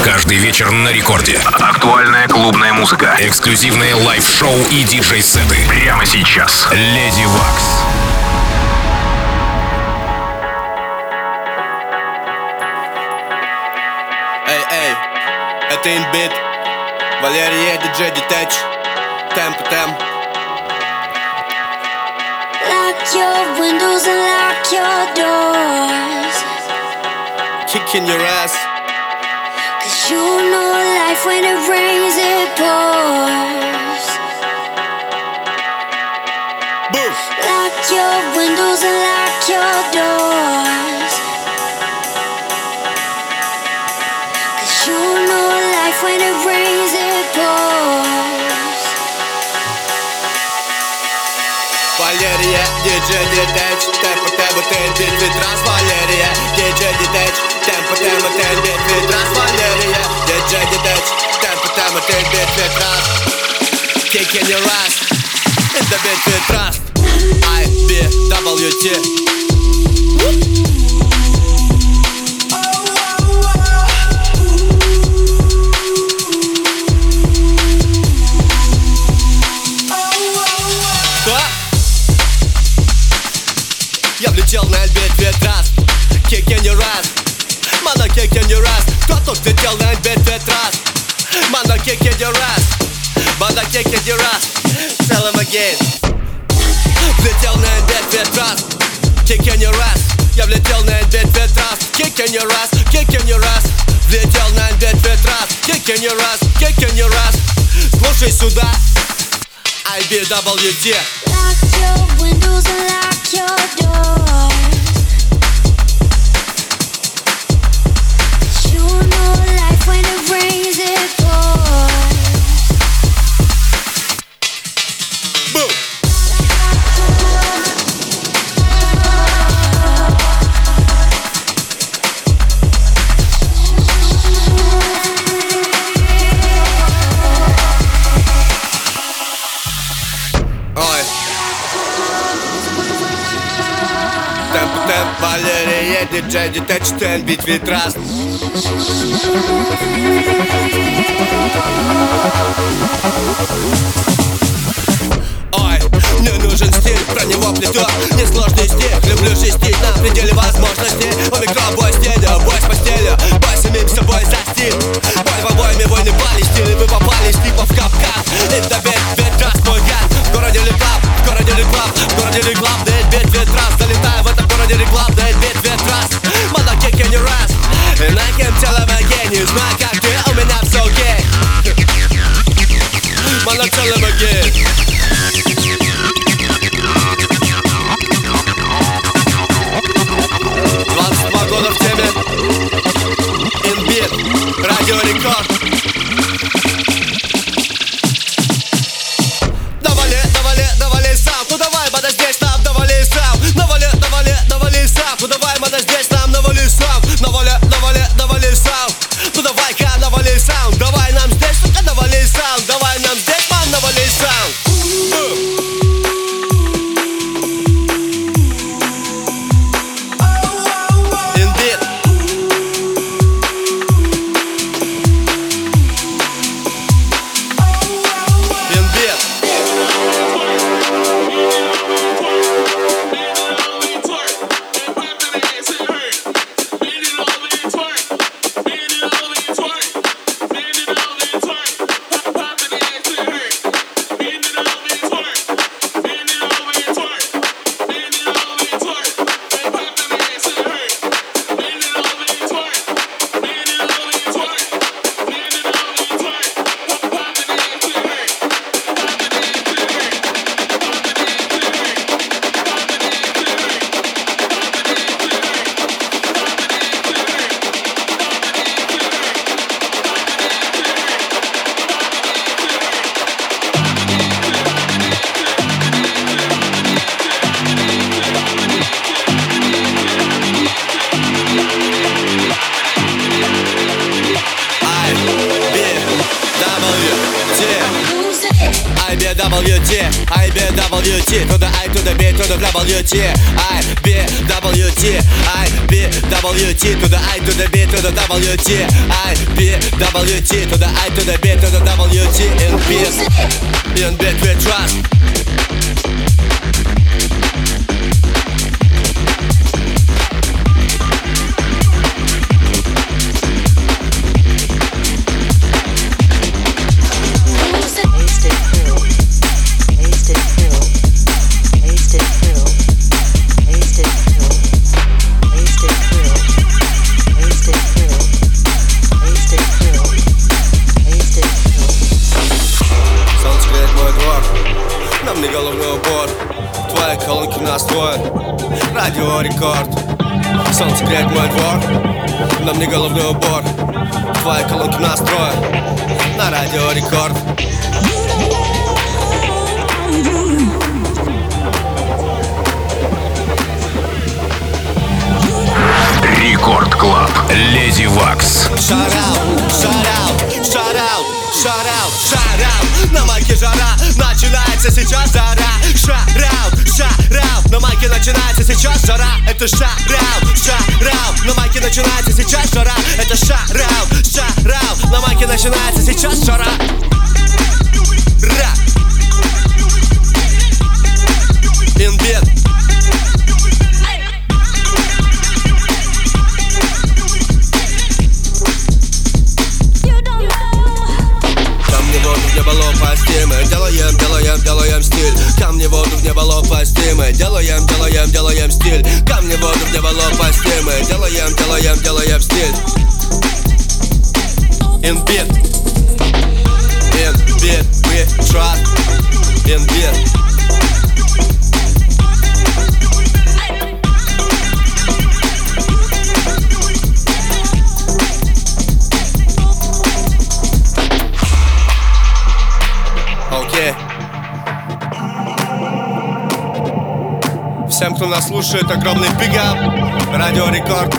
Каждый вечер на рекорде. Актуальная клубная музыка. Эксклюзивные лайв-шоу и диджей-сеты. Прямо сейчас. Леди Вакс. Эй, это Инбит, Валерия, диджей Детач, темп. Lock your windows and lock your doors, Kicking your ass. 'cause you know life when it rains it pours. Boom. Lock your windows and lock your doors, 'cause you know life when it rains it pours. Валерия, диджей Детач, темп, Инбит, Витрас. Валерия, диджей Детач, темп, Инбит, Витрас. Валерия, диджей Детач, темп, Инбит, Витрас. Kicking your ass in the beat with trust. IBWT. Я влетел на Альбит Ветрас, kicking your ass, мана kicking your ass. Кто тут влетел на Альбит Ветрас, мана kicking your ass, мана kicking your ass. Tell him again. Влетел на Альбит Ветрас, kicking your ass. Я влетел на Альбит Ветрас, kicking your ass, kicking your ass. Влетел на Альбит Ветрас, kicking your ass, kicking your ass. Слушай сюда, IBWT. Lock your windows and lock your doors. You know life when it rains it pours. Boom. Ой. Темп, Валерия, диджей Детач, Инбит, Витрас. Ой, мне нужен стиль, про него плетет несложный стих. Люблю шестить на пределе возможностей. У микробой стиля, бой с постелью, бой самим собой за стиль. Бой в обоими войны пали стили, вы попали типа в капкан. Это Ветрас, мой гад. В городе реклам, в городе реклам, в городе реклам. Да Инбит, Ветрас, залетаю в этом городе реклам. Да Инбит, Ветрас, мана kicking your ass. And I can tell him again, не знаю как ты, у меня все окей. Мана tell him again. 22 года в теме. Инбит, Радио Рекорд. Навали сам, ну давай, мана здесь нам, навали сам. Навали сам, ну давай, мана здесь нам, навали сам. Навали сам, ну давай-ка навали сам. Давай нам здесь, сука, навали сам. Давай нам здесь, мам, навали сам. Инбит. IBWT, IBWT, to the I to the B to the WT, IBWT, IBWT, to the I to the B to the WT, IBWT, to the I to the B to the WT. In beat we trust. Нам не головной убор, твои колонки настроят Радио Рекорд. Солнце греет мой двор. Нам не головной убор, твои колонки настроят на Радио Рекорд. Рекорд Клаб, Леди Вакс. Shout out, shout out, shout out, shout out, shout out. На майке жара, начинается сейчас жара. Shout out, shout out. На майке начинается сейчас жара. Это shout out, shout out. На майке начинается сейчас жара. Это shout out, shout out. На майке начинается сейчас жара. Ра. Инбет. В небо лопасти мы делаем, делаем, делаем стиль. Камни в воду в небо лопасти мы делаем, делаем, делаем стиль. Камни в воду в небо лопасти мы делаем, делаем, делаем стиль. In beat, we trust. In beat. Всем, кто нас слушает, огромный бигап. Радио Рекорд.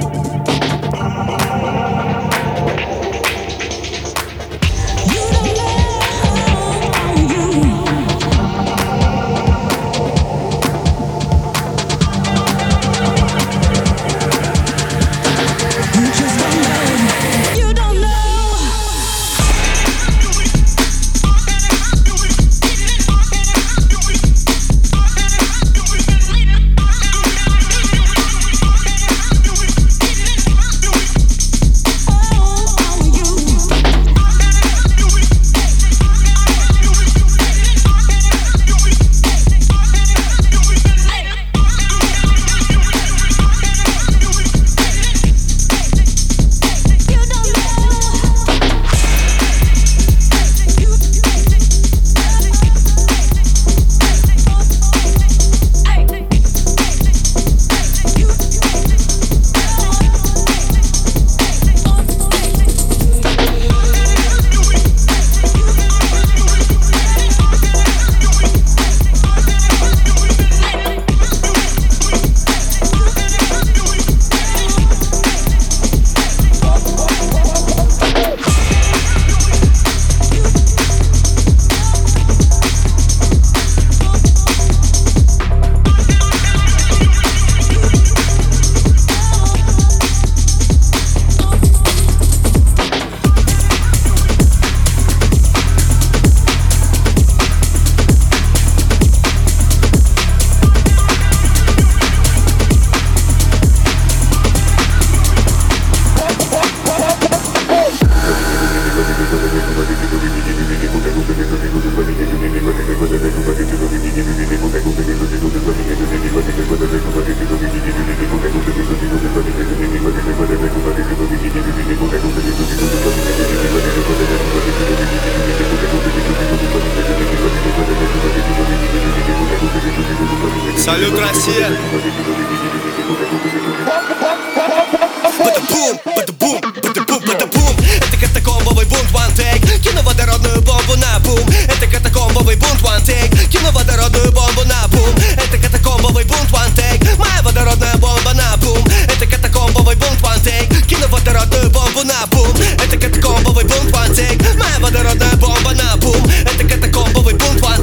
Салют, Россия! Бада-бум, бада-бум, бада-бум, бада-бум. Это катакомбовый бунт, one take. Кину водородную бомбу на бум. Это катакомбовый бунт, one take. Кину водородную бомбу на бум. Это катакомбовый бунт, one take. Моя водородная бомба на бум. Это катакомбовый бунт, one take. Кину водородную бомбу на бум. Это катакомбовый бунт, one take. Моя водородная бомба на бум. Это катакомбовый бунт, one take.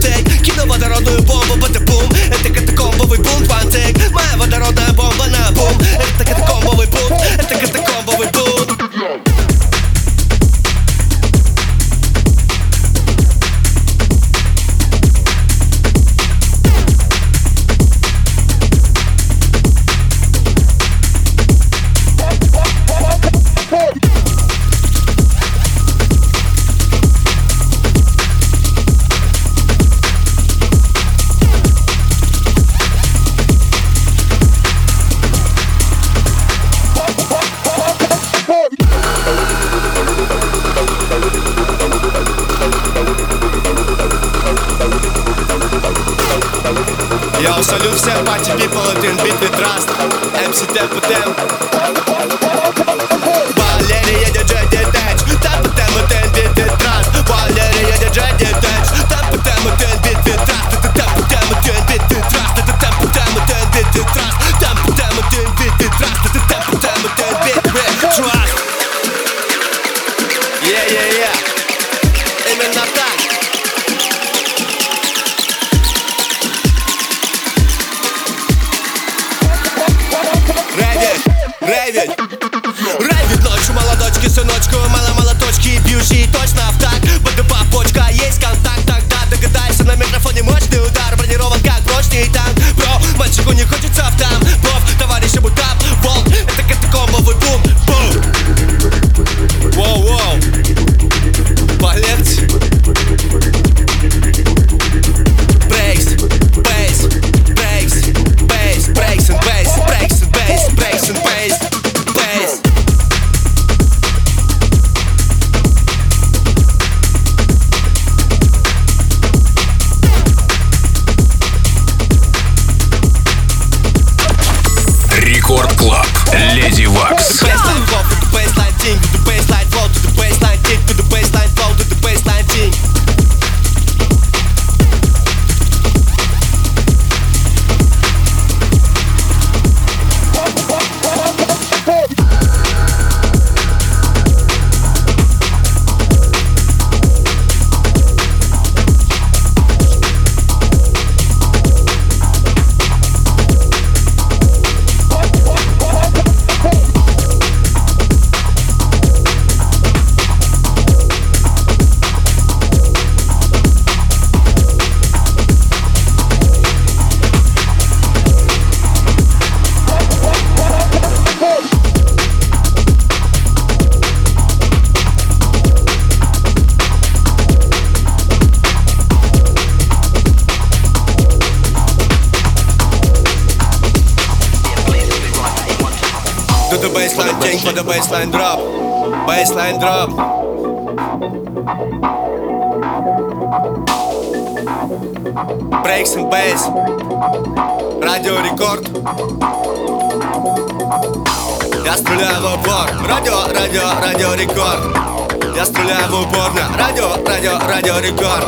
Йоу, салют всем party people, это Beat with Trust, MC Tempo Temp. Валерия, диджей Детач, Tempo Temp, это Beat with Trust. Валерия, диджей Детач, Tempo Temp, это Beat with Trust. Это Tempo Temp, это Beat with Trust. Это Tempo Temp, это Beat with Trust. Tempo Temp, это Beat with Trust. Это Tempo Temp, это Beat with Trust. Yeah. Именно так. Рейвит ночью молодочки, сыночку, мало молоточки, бьющие точно в так. БДП почка, есть контакт, тогда догадайся, на микрофоне мощный удар, бронирован как прочный танк. Бро, мальчику не хочется в там, бов, товарищи бутап, волк, это катакомбовый бум, бум. Воу, полегче. Брейкс, бейс, брейкс, бейс, брейкс and бейс, брейкс and бейс, брейкс and бейс, бейс. Рекорд Клаб. Леди Вакс. Baseline flow to the baseline ting, to the baseline flow to the baseline ting, to the baseline flow to the baseline ting. To the baseline ting for the baseline drop, baseline drop. Breaks and bass, радио рекорд. Я стреляю в упор, радио рекорд. Я стреляю в упор на радио рекорд.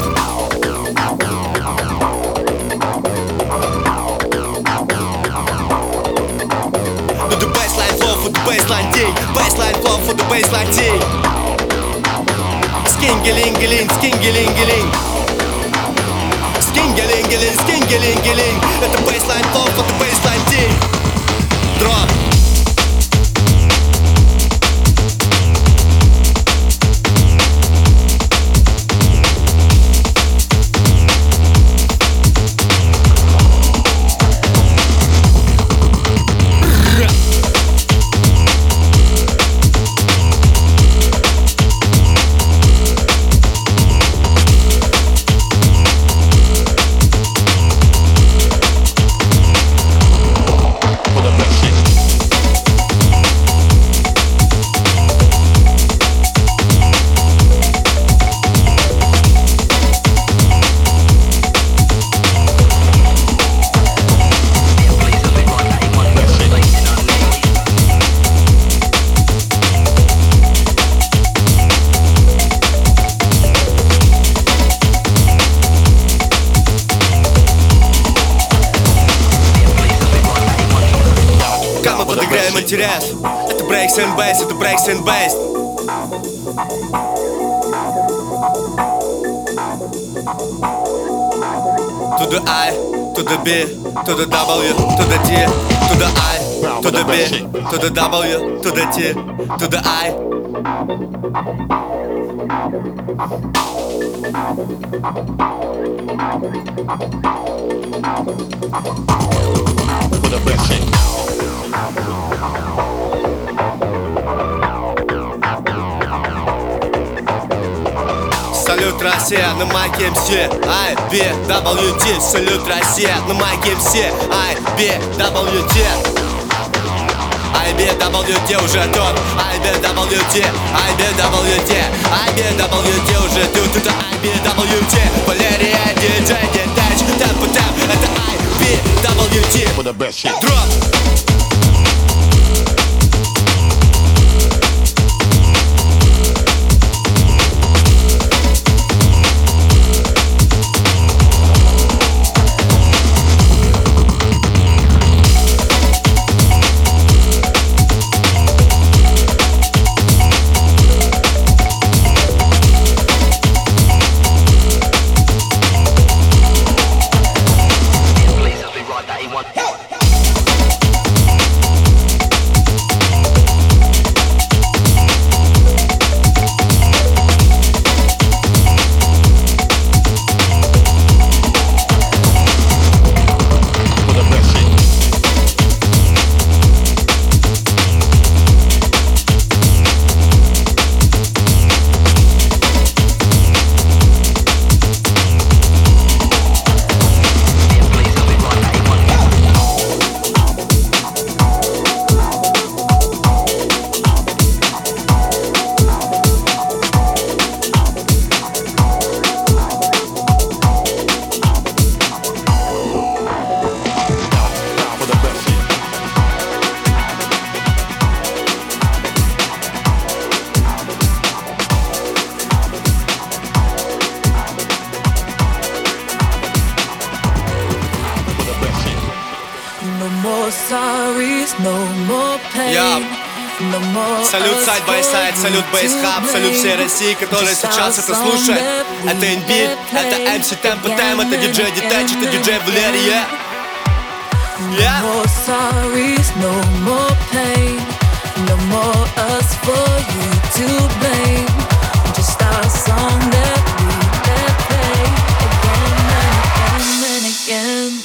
To the baseline flow for the baseline ting, baseline flow for the baseline ting. Skingelingeling, skingelingeling, skingelingeling, skingelingeling. Это baseline flow for the baseline ting. Drop. Подыграем интерес. Это breaks and bass, это breaks and bass. To the I, to the B, to the W, to the T, to the I, to the B, to the W, to the T, to the I. With a blessing. Салют, Россия, на майке МС IBWT. Салют, Россия, на майке МС IBWT. IBWT уже тут. IBWT, IBWT, IBWT уже тут. Это IBWT. Валерия, диджей, Детач, Темпо Темп. Это IBWT. летит. Дроп. Салют Side by Side, салют Bass Hub, салют всей России, которая сейчас это слушает. Это Inbeat, это MC Tempo Time, это DJ Detach, это DJ Valeria. Yeah. No more sorries, no more pain, no more us for you to blame. Just our song that we let play again and again.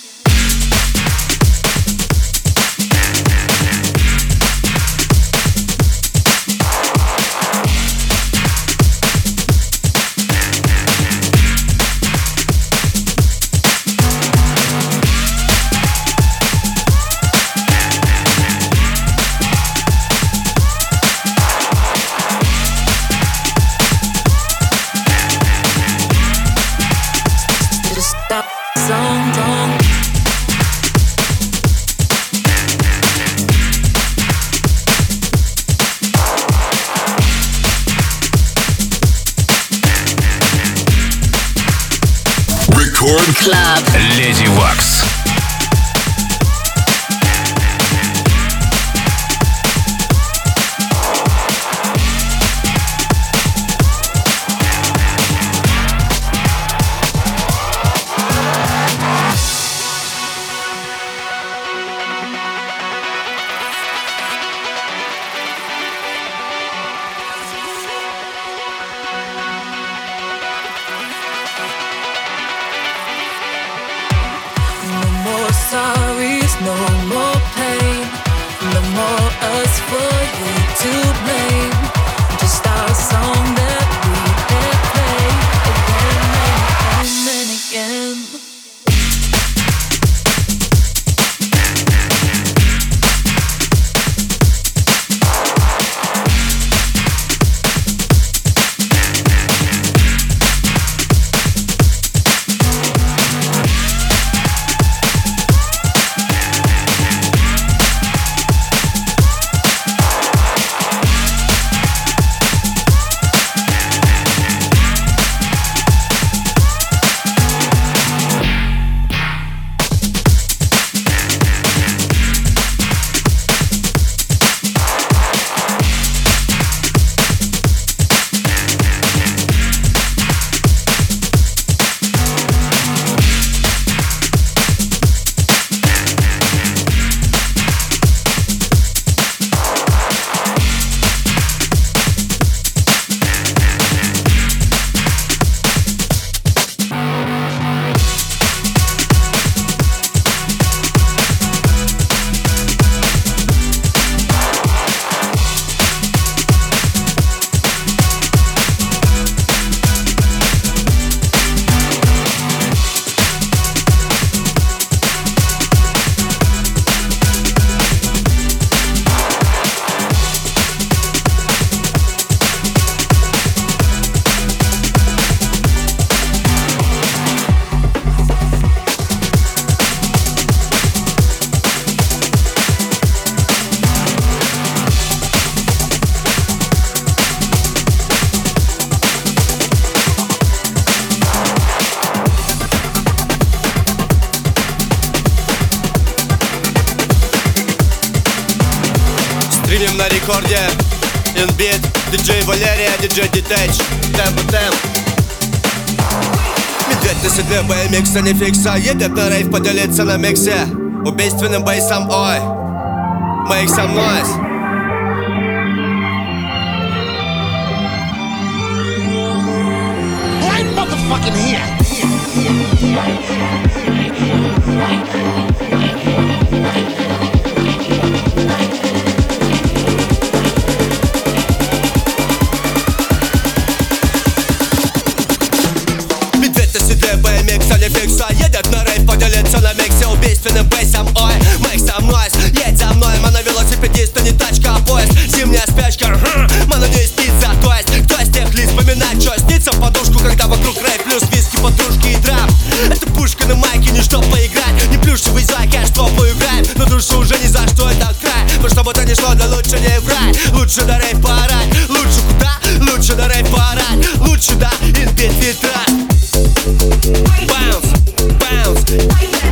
Club. Lady Wax. No рекорде. Инбит, диджей Валерия, диджей Детеч. Темп. Медведь на седле, BMX, а не фикса. Едет на рейв, поделиться на миксе убийственным бейсом, ой. Make some noise. Right motherfucking here. Медведь на седле, BMX, а не фикса. Едет на рейв, поделиться на миксе убийственным бейсом, ой. Make some noise. Едь за мной, мана велосипедист, а не тачка, а поезд. Зимняя спячка, мана не спится. То есть, кто из тех лиц вспоминать, что снится в подушку, когда вокруг рейв, плюс виски, подружки и драм. Это пушка на майке, не чтоб поиграть, не плюшевый зайка, что поиграем. Но душу уже ни за что, это край. Но чтобы это не шло, да лучше не врать. Лучше до рейв поорать. Лучше куда? Лучше до рейв поорать. Лучше да, инбит ветра. Bounce, bounce.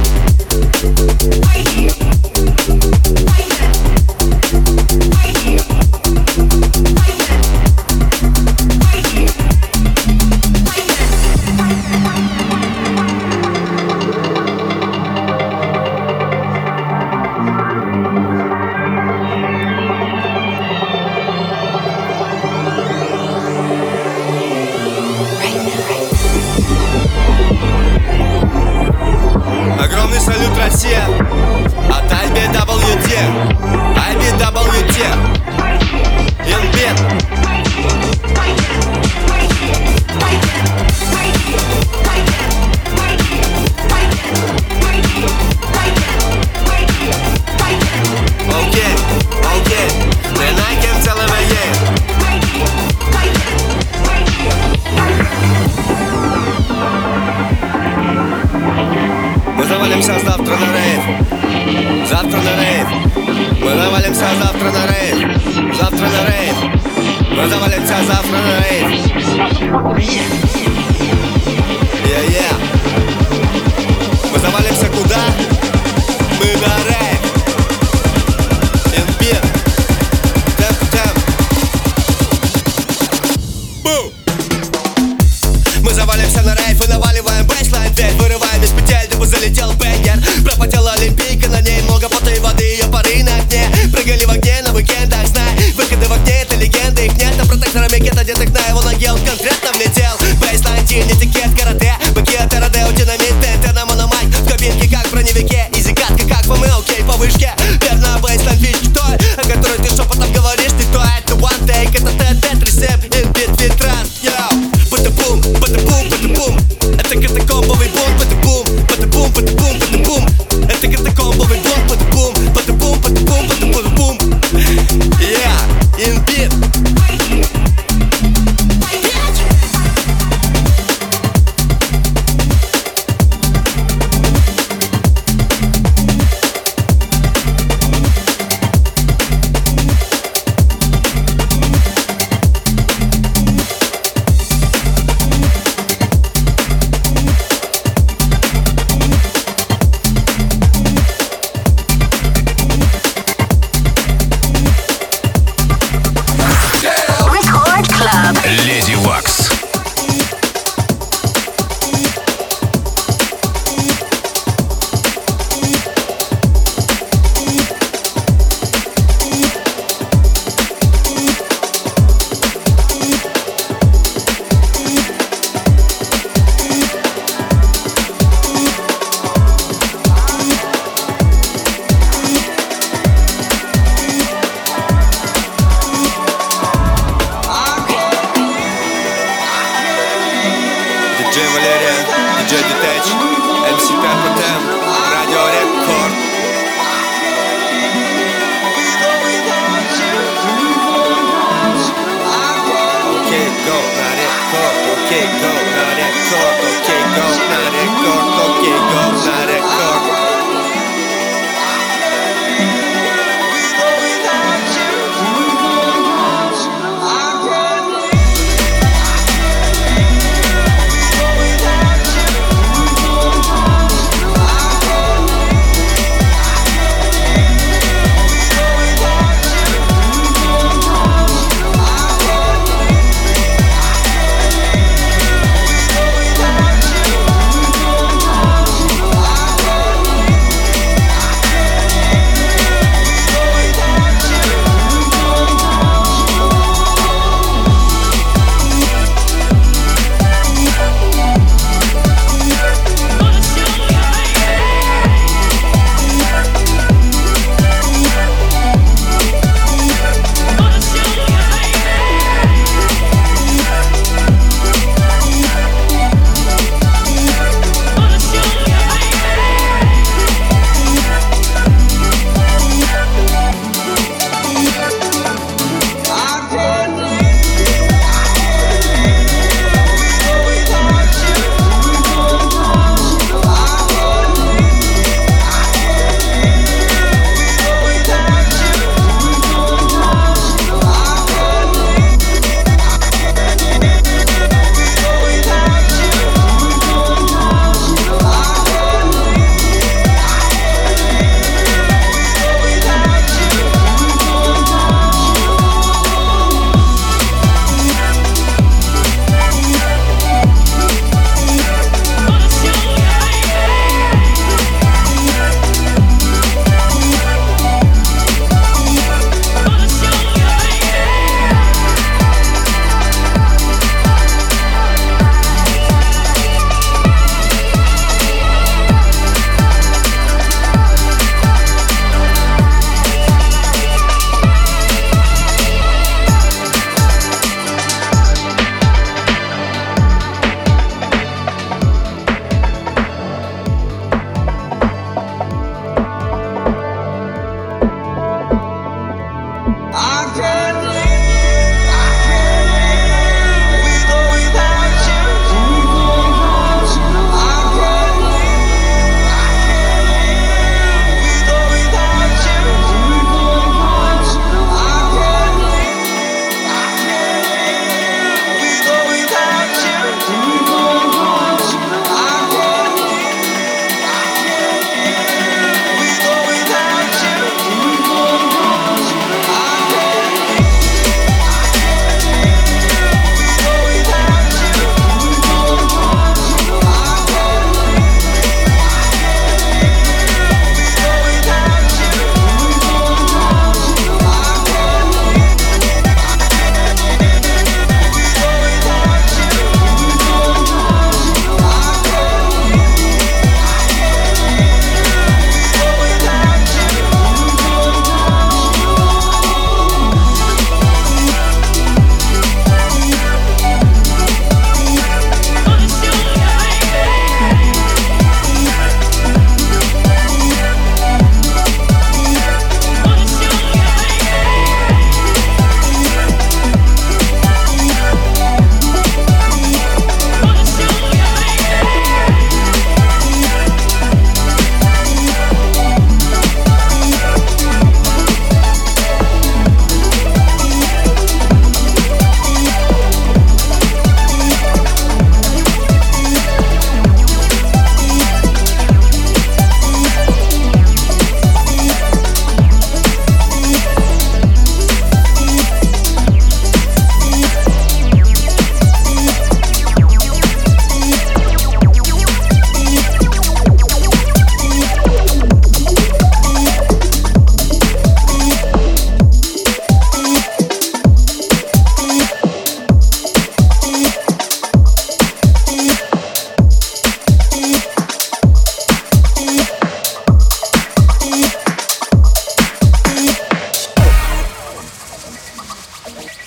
Огромный салют, Россия, от IBWT. IBWT Инбит. Окей, ты на кем целого есть. Мы завалимся завтра на рейв. Завтра на рейв. Мы завалимся завтра на рейв. Завтра на рейв. Мы завалимся завтра на рейв. Yeah. Мы завалимся куда? Мы на рейв. Инбит. Темп. Бу! Мы завалимся на рейв и наваливаем бейслайн. Дверь вырываем из петель, дабы залетел бэнгер. Пропотела олимпийка, на ней много пота и воды. Ее пары на окне, прыгали в огне на уикендах. Знай, выходы в огне, это легенды. Их нет, а протектора микет одетых на его ноге. Он конкретно влетел. Бейслайн, тин, этикет, карате. Быки от РД, динамит, ТНТ на мономайк. В кабинке, как в броневике. Изи катка, как в окей, по вышке. Верно, бейслайн, фишки той, о которой ты шепотом говоришь. Ты то, это one take, это ТТ-3-7. Инбит, витран, йоу. Бата-бум, бата-бум. Это катакомбовый бум, бата-бум. Бата-бум. Это катакомбовый бум, бата-бум. Бата-бум. Yeah, инбит. Леди Вакс. Диджей Валерия, диджей Детеч, MC Peppertem, Радио Рекорд. Окей, go на рекорд, окей, go на рекорд, окей, go на рекорд, окей, go на рекорд.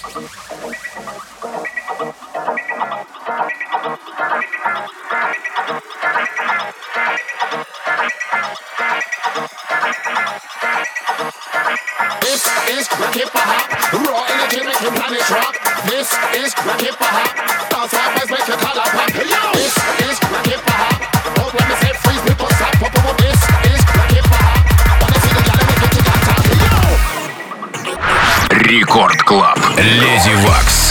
Рекорд Клаб. Леди Вакс.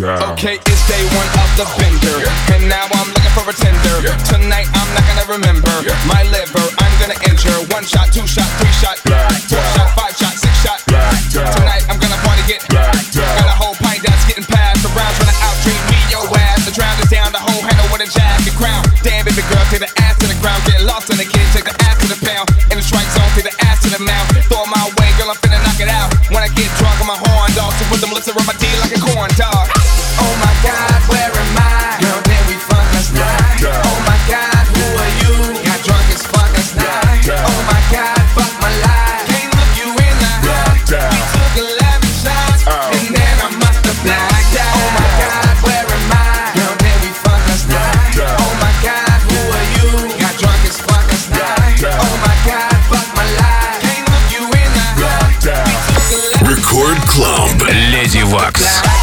Okay, it's day one of the bender, and now I'm looking for a tender. Tonight I'm not gonna remember my liver. I'm gonna injure. 1 shot, 2 shot, 3 shot, 4 shot, 5 shot, 6 shot. Tonight I'm gonna party get got a whole pint that's getting passed around, trying to out drink me your ass. The drown is down, the whole handle with a jacket crown. Damn baby girl, take the ass to the ground, get lost in the kid, take the ass to the pound. In the strike zone, take the ass to the mouth. Throw my way, girl, I'm finna knock it out. When I get drunk, I'm a horn dog, so put them lips around my teeth like a corn dog. Oh my God, where am I? Girl, did we fuck last night? Oh my God, who are you? Got drunk as fuck last night. Oh my God, fuck my life. Can't look you in the eye. We took 11 shots, and then I must have blacked out. Oh my God, where am I? Girl, did we fuck last night? Oh my God, who are you? Got drunk as fuck last night. Oh my God, fuck my life. Can't look you in the eye. We took 11 Record Club. Lady Wax.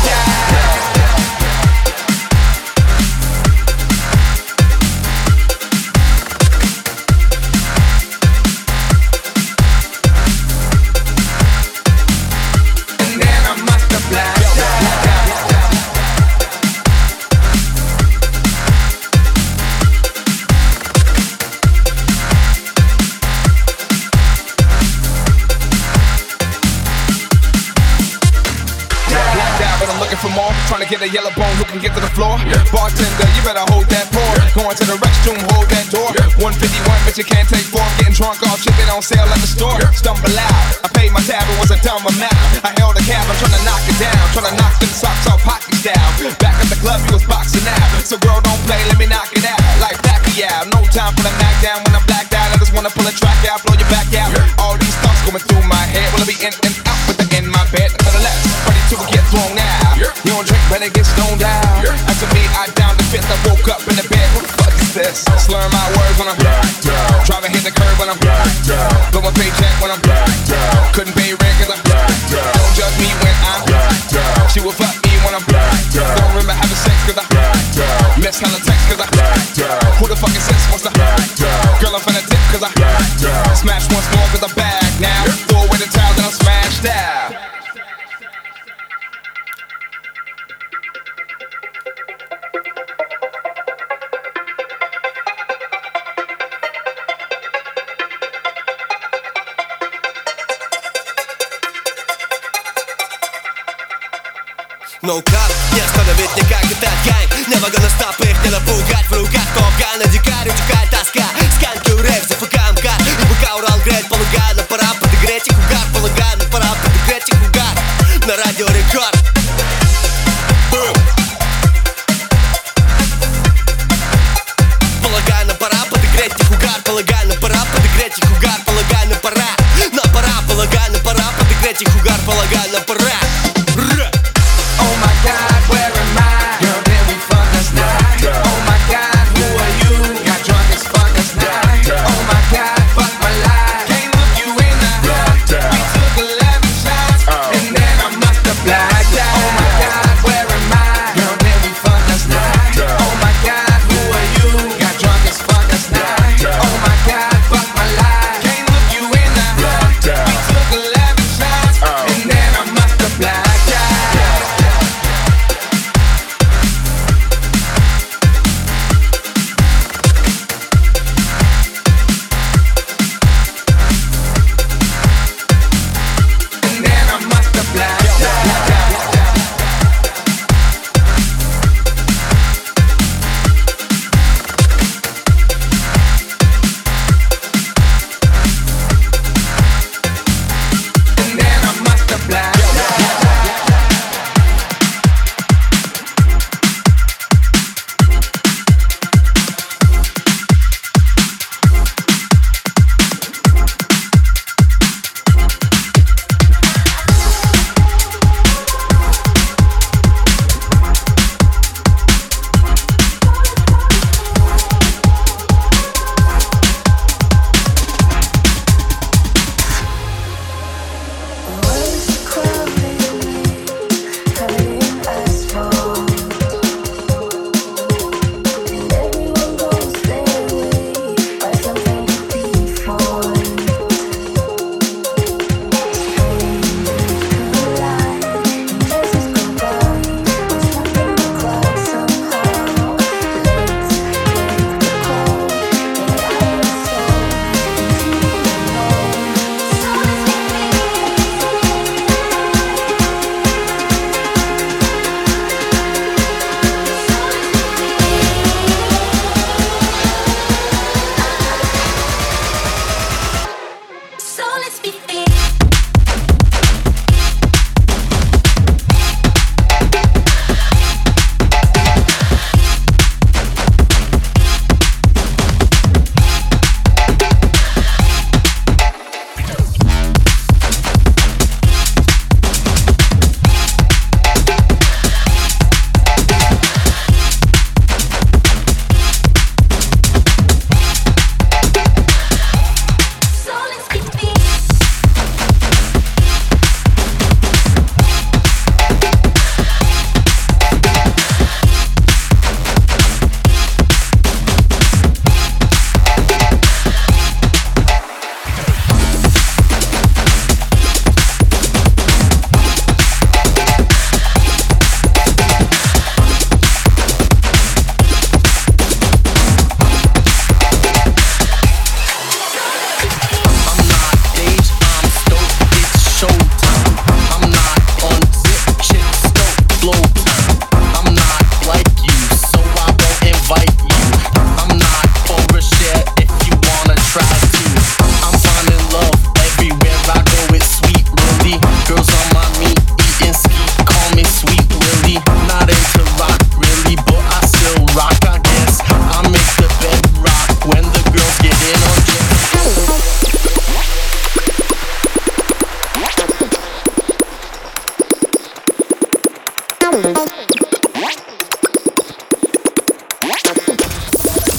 Trying to get a yellow bone who can get to the floor. Bartender, you better hold that pour. Going to the restroom, hold that door. 151, but you can't take 4. I'm getting drunk off shit that on sale at the store. Stumble out, I paid my tab, it was a dumb amount. I held a cab, I'm trying to knock it down. Trying to knock them socks off hockey style. Back at the club, you was boxing out. So girl, don't play, let me knock it out. Like Pacquiao, no time for the knock down. When I'm blacked out, I just wanna pull a track out, blow your back out. All these thoughts going through my head. Will I be in and out with the in my bed? Nonetheless, ready to get thrown out. You don't drink, better get stoned out. After me, I down the fifth, I woke up in the bed. Who the fuck is this? Slurring my words when I'm blacked out. Driving hit the curb when I'm blacked out. Blow my paycheck when I'm blacked out. Couldn't pay rent cause I'm blacked out. Don't judge me when I'm blacked out. She will fuck me when I'm blacked out. Don't remember having sex cause I'm blacked out. Miss hella text cause I'm blacked out. Who the fuck is this? What's the blacked out? Girl, I'm finna tip cause I'm blacked out. Smash once more cause I'm back now. Throw away the towel then I'm smashed out. No cap, не остановить никак этот гань. Never gonna stop, их не напугать. В руках копка, на дикарь утекает тоска. Сканкаю рэп, зафукаем кар. И пока Урал греет полугана, пора подогреть их угар. Полугана, пора подогреть их угар. На радио Рекорд. Полагаю, пора подогреть их угар. Полагаю, пора подогреть их угар. Полагаю, пора. На пора, полагаю, пора подогреть их угар. Полагаю, пора. Oh my God, where am I? Girl, did we fuck last night? Oh my God, who are you? Got drunk as fuck last night. Oh my God, fuck my life. Can't look you in the eye. We took 11 shots, and then I must have blacked out. Oh my God, where am I? Girl, did we fuck last night? Oh my God, who are you? Got drunk as fuck last night. Oh my God, fuck my life. Can't look you in the eye. We took 11 shots, and then I must have blacked out.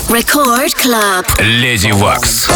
Record Club. Леди Вакс.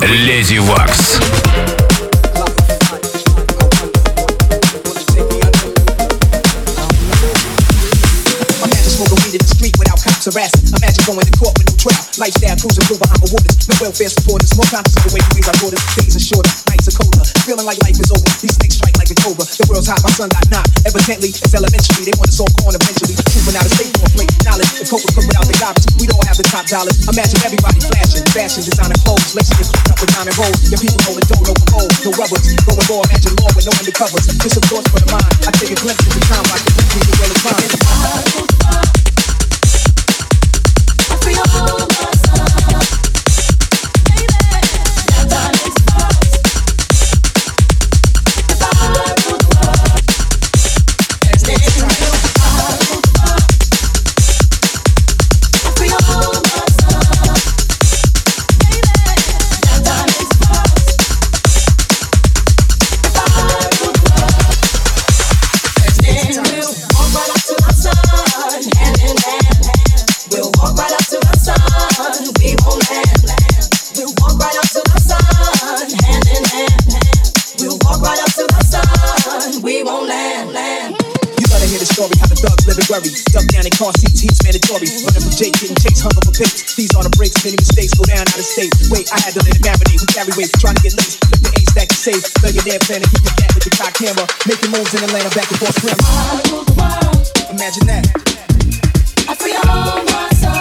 Леди Вакс. Imagine going to court with no trial. Lifestyle cruising through behind the waters. No welfare supporters. More conscious of the way we raise our daughters. Days are shorter, nights are colder. Feeling like life is over. These snakes strike like a cobra. The world's hot, my son got knocked. Evidently, it's elementary. They want us all gone eventually. Trooping out of state for a plate. Knowledge. The coke will cook without the garbage. We'd all have the top dollars. Imagine everybody flashing. Fashion, designer clothes. Lacing your feet up with diamond rolls. Your people holding dough, no gold, no rubbers. Going raw, imagine law with no undercovers. Just a thoughts for the mind. I take a glimpse into time like the world is mine. Duck down in car seats, heat's mandatory. Running from Jake, getting chased, hung up for pics. These are the breaks, many mistakes, go down out of state. Wait, I had to let it marinate. We carry weight, trying to get laced. Flip the ace stack to save. Millionaire plan to keep the cat with the cock camera. Making moves in Atlanta, back and forth scramble. Imagine that. I free all my sons.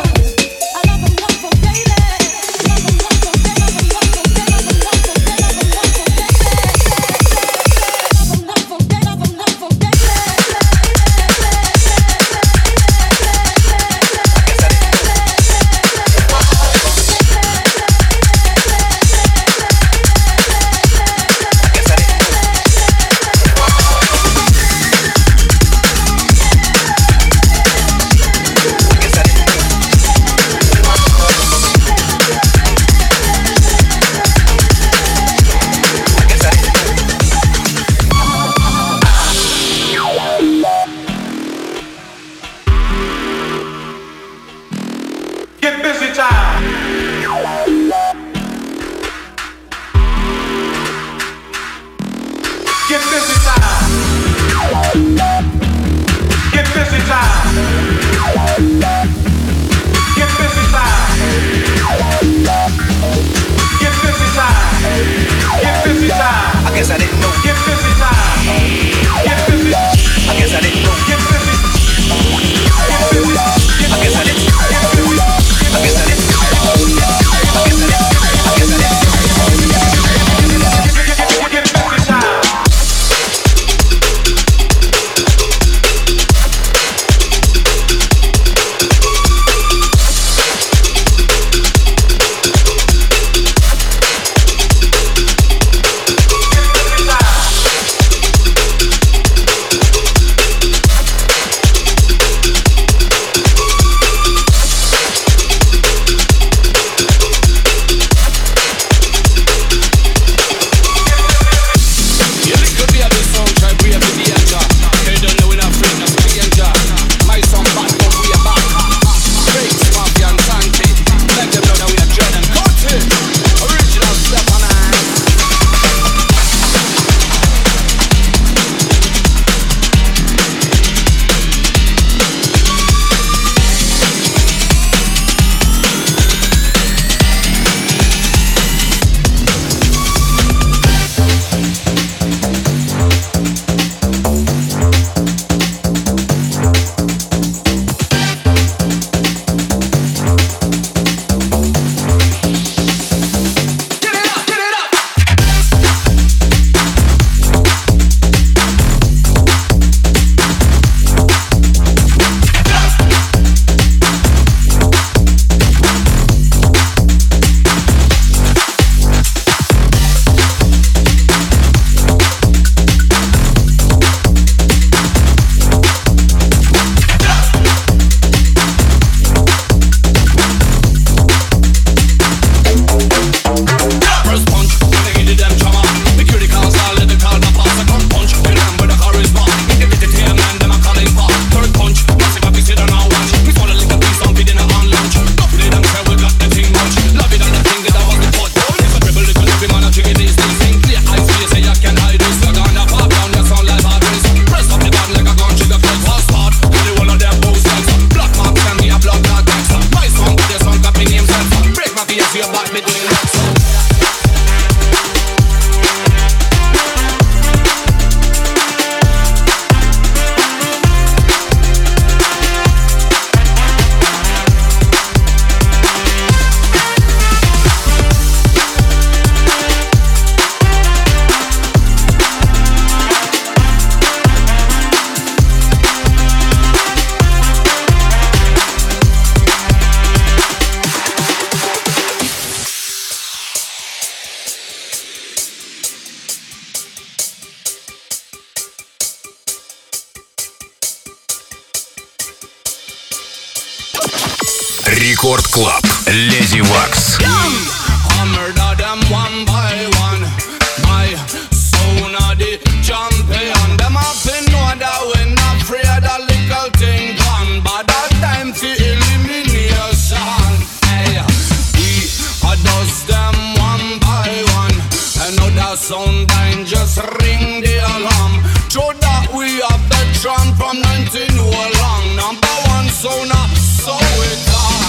Рекорд Клаб. Леди Вакс. I murder them one by one. My son of the champion. Them up in know that we not afraid of little thing gone. But that time for elimination. Hey, we dust them one by one. Another sound line just ring the alarm. Show that we have the tron from 19 long. Number one sound, so it on.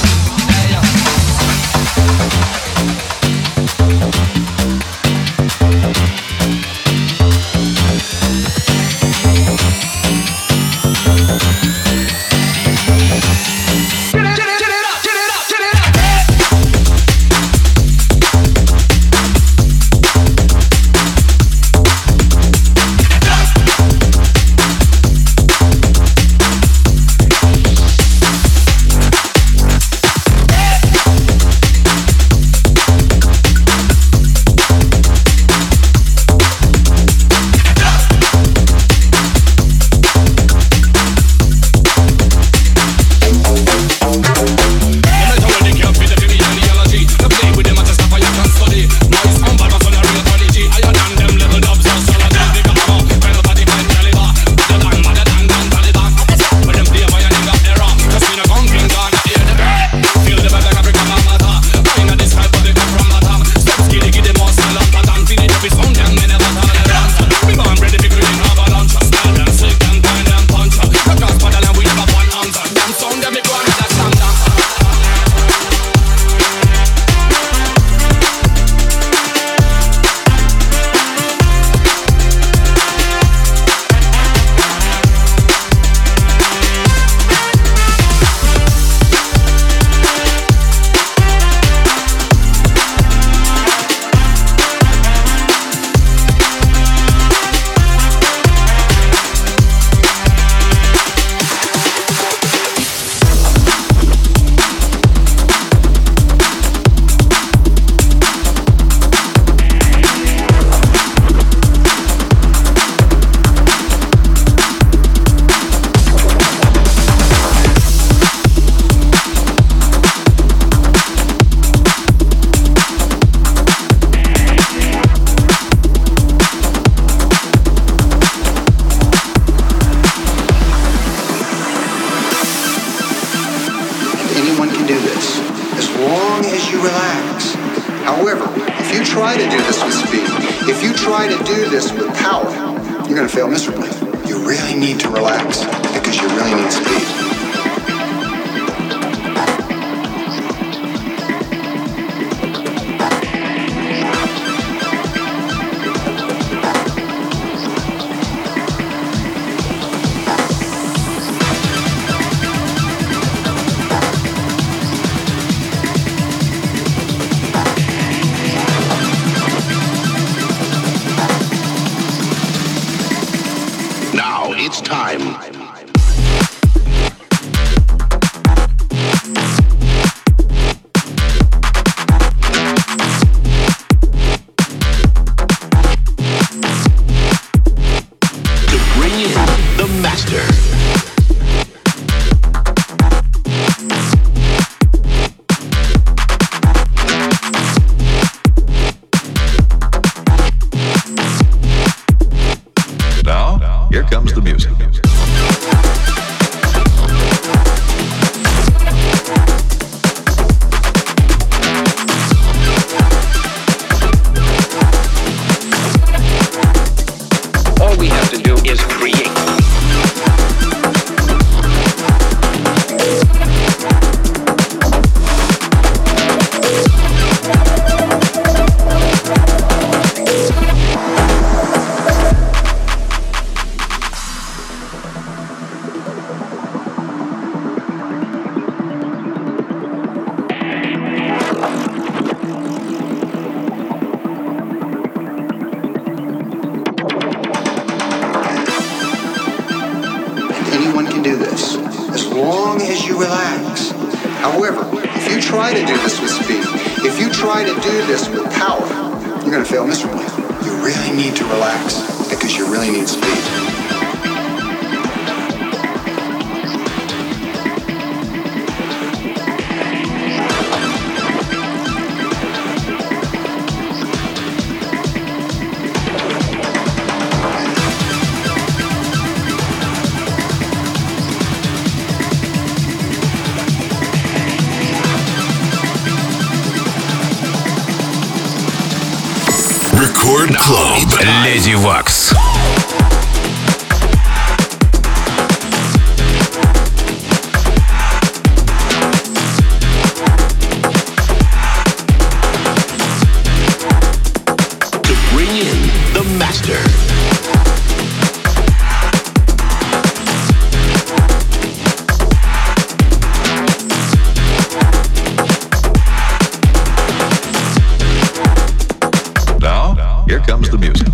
It's time. To bring in the master. Now, here comes the music. All we have to do is create. Record Club. Lady Wax. To bring in the master. Here comes the music.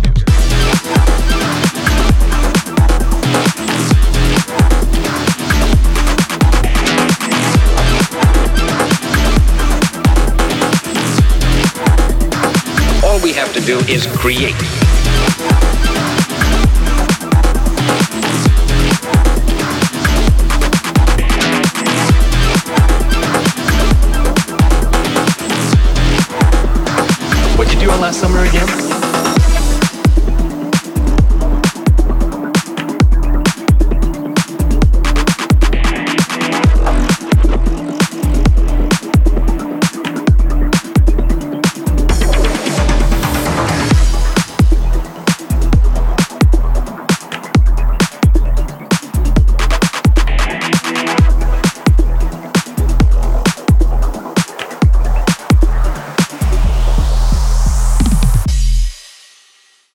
All we have to do is create. What'd you do on last summer again?